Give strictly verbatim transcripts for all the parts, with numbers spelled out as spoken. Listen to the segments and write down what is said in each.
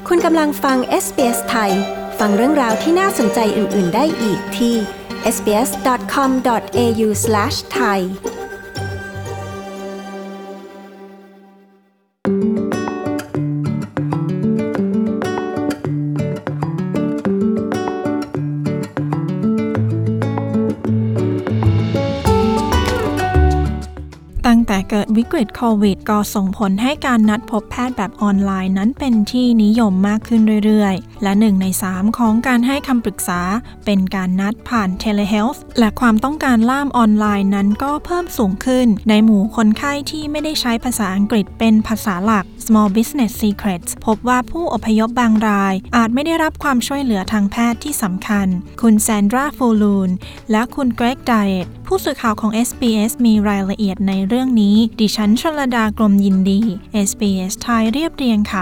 คุณกำลังฟัง เอส บี เอส ไทยฟังเรื่องราวที่น่าสนใจอื่นๆได้อีกที่ เอส บี เอส ดอท คอม ดอท เอ ยู สแลช ไทยตั้งแต่เกิดวิกฤตโควิดก็ส่งผลให้การนัดพบแพทย์แบบออนไลน์นั้นเป็นที่นิยมมากขึ้นเรื่อยๆและหนึ่งในสามของการให้คำปรึกษาเป็นการนัดผ่าน Telehealth และความต้องการล่ามออนไลน์นั้นก็เพิ่มสูงขึ้นในหมู่คนไข้ที่ไม่ได้ใช้ภาษาอังกฤษเป็นภาษาหลัก Small Business Secrets พบว่าผู้อพยพบางรายอาจไม่ได้รับความช่วยเหลือทางแพทย์ที่สำคัญคุณแซนดรา ฟูลูนและคุณเกรก ไดเอตผู้สื่อข่าวของ เอส บี เอส มีรายละเอียดในเรื่องนี้ดิฉันชลดากรมยินดี เอส บี เอส ไทยเรียบเรียงค่ะ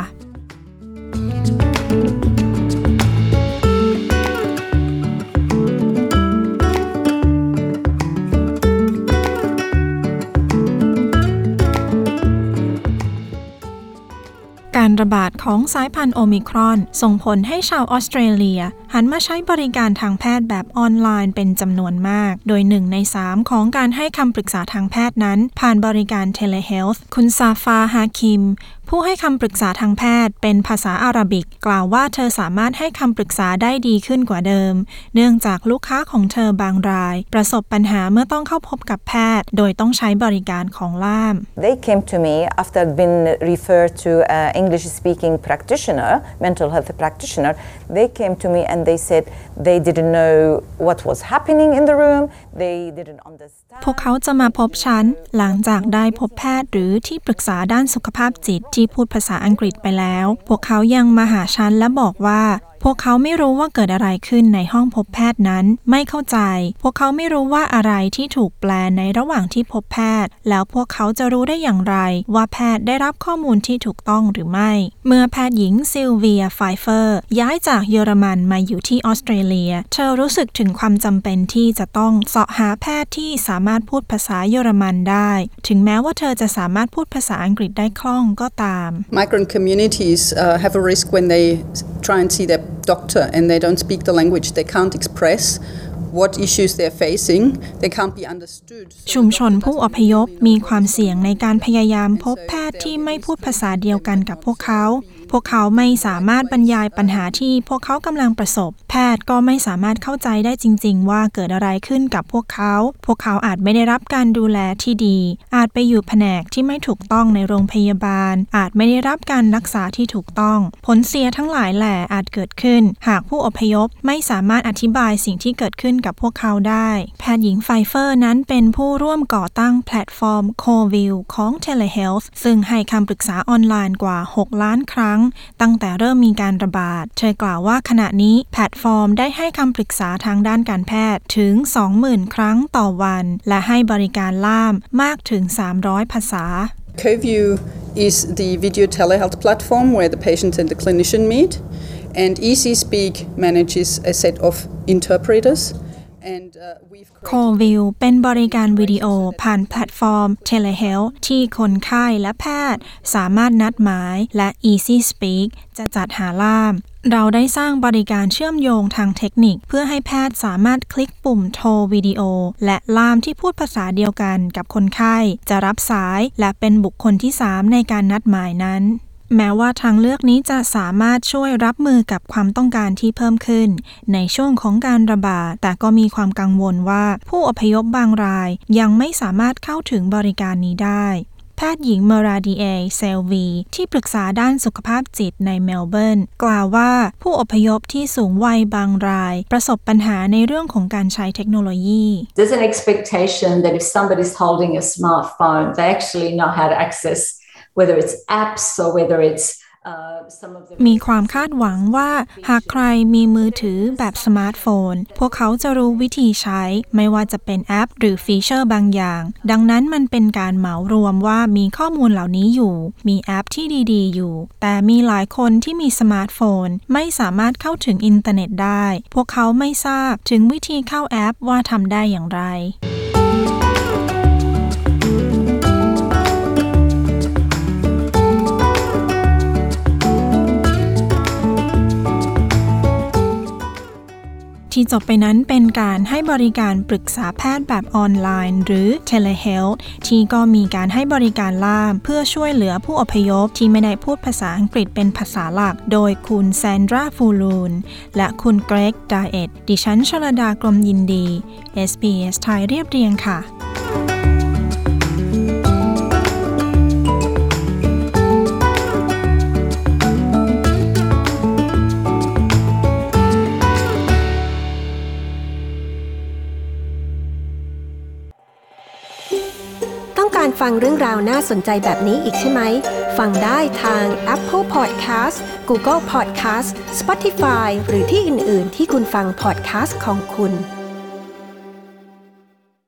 การระบาดของสายพันธุ์โอมิครอนส่งผลให้ชาวออสเตรเลียหันมาใช้บริการทางแพทย์แบบออนไลน์เป็นจำนวนมากโดยหนึ่งในสามของการให้คำปรึกษาทางแพทย์นั้นผ่านบริการ Telehealth คุณซาฟา ฮาคิมผู้ให้คำปรึกษาทางแพทย์เป็นภาษาอาหรับิกกล่าวว่าเธอสามารถให้คำปรึกษาได้ดีขึ้นกว่าเดิมเนื่องจากลูกค้าของเธอบางรายประสบปัญหาเมื่อต้องเข้าพบกับแพทย์โดยต้องใช้บริการของล่าม They came to me after being referred to an English speaking practitioner, mental health practitioner. They came to me and they said they didn't know what was happening in the room. They didn't understand. พวกเขาจะมาพบฉันหลังจากได้พบแพทย์หรือที่ปรึกษาด้านสุขภาพจิตที่พูดภาษาอังกฤษไปแล้วพวกเขายังมาหาฉันและบอกว่าพวกเขาไม่รู้ว่าเกิดอะไรขึ้นในห้องพบแพทย์นั้นไม่เข้าใจพวกเขาไม่รู้ว่าอะไรที่ถูกแปลในระหว่างที่พบแพทย์แล้วพวกเขาจะรู้ได้อย่างไรว่าแพทย์ได้รับข้อมูลที่ถูกต้องหรือไม่เมื่อแพทย์หญิงซิลเวีย ไฟเฟอร์ย้ายจากเยอรมันมาอยู่ที่ออสเตรเลียเธอรู้สึกถึงความจำเป็นที่จะต้องเสาะหาแพทย์ที่สามารถพูดภาษาเยอรมันได้ถึงแม้ว่าเธอจะสามารถพูดภาษาอังกฤษได้คล่องก็ตาม Migrant communities uh, have a risk when they try and see their doctor and they don't speak the language, they can't express what issues they're facing, they can't be understood. ชุมชนผู้อพยพมีความเสี่ยงในการพยายามพบแพทย์ที่ไม่พูดภาษาเดียวกันกับพวกเขาพวกเขาไม่สามารถบรรยายปัญหาที่พวกเขากำลังประสบแพทย์ก็ไม่สามารถเข้าใจได้จริงๆว่าเกิดอะไรขึ้นกับพวกเขาพวกเขาอาจไม่ได้รับการดูแลที่ดีอาจไปอยู่แผนกที่ไม่ถูกต้องในโรงพยาบาลอาจไม่ได้รับการรักษาที่ถูกต้องผลเสียทั้งหลายแหล่อาจเกิดขึ้นหากผู้อพยพไม่สามารถอธิบายสิ่งที่เกิดขึ้นกับพวกเขาได้แพทย์หญิงไฟเฟอร์นั้นเป็นผู้ร่วมก่อตั้งแพลตฟอร์ม Covil ของ Telehealth ซึ่งให้คำปรึกษาออนไลน์กว่าหกล้านครั้งตั้งแต่เริ่มมีการระบาดเธอกล่าวว่าขณะนี้แพลตฟอร์มได้ให้คำปรึกษาทางด้านการแพทย์ถึง สองหมื่น ครั้งต่อวันและให้บริการล่ามมากถึงสามร้อยภาษา Covil is the video telehealth platform where the patient and the clinician meet and EasySpeak manages a set of interpreters.And, uh, Covil เป็นบริการวิดีโอผ่านแพลตฟอร์ม Telehealth ที่คนไข้และแพทย์สามารถนัดหมายและ EasySpeak จะจัดหาล่ามเราได้สร้างบริการเชื่อมโยงทางเทคนิคเพื่อให้แพทย์สามารถคลิกปุ่มโทรวิดีโอและล่ามที่พูดภาษาเดียวกันกับคนไข้จะรับสายและเป็นบุคคลที่สามในการนัดหมายนั้นแม้ว่าทางเลือกนี้จะสามารถช่วยรับมือกับความต้องการที่เพิ่มขึ้นในช่วงของการระบาดแต่ก็มีความกังวลว่าผู้อพยพบางรายยังไม่สามารถเข้าถึงบริการนี้ได้แพทย์หญิงเมราดีเอ เซลวีที่ปรึกษาด้านสุขภาพจิตในเมลเบิร์นกล่าวว่าผู้อพยพที่สูงวัยบางรายประสบปัญหาในเรื่องของการใช้เทคโนโลยี There's an expectation that if somebody's holding a smartphone they actually know how to access whether it's apps or whether it's มีความคาดหวังว่าหากใครมีมือถือแบบสมาร์ทโฟนพวกเขาจะรู้วิธีใช้ไม่ว่าจะเป็นแอปหรือฟีเจอร์บางอย่างดังนั้นมันเป็นการเหมารวมว่ามีข้อมูลเหล่านี้อยู่มีแอปที่ดีๆอยู่แต่มีหลายคนที่มีสมาร์ทโฟนไม่สามารถเข้าถึงอินเทอร์เน็ตได้พวกเขาไม่ทราบถึงวิธีเข้าแอปว่าทำได้อย่างไรคที่จบไปนั้นเป็นการให้บริการปรึกษาแพทย์แบบออนไลน์หรือ Telehealth ที่ก็มีการให้บริการล่ามเพื่อช่วยเหลือผู้อพยพที่ไม่ได้พูดภาษาอังกฤษเป็นภาษาหลักโดยคุณแซนดราฟูลูนและคุณเกรกดาเอตดิฉันชลดากรมยินดี เอส บี เอส ไทยเรียบเรียงค่ะต้องการฟังเรื่องราวน่าสนใจแบบนี้อีกใช่ไหม ฟังได้ทาง Apple Podcast Google Podcast Spotify หรือที่อื่น ๆ ที่คุณฟัง podcast ของคุณ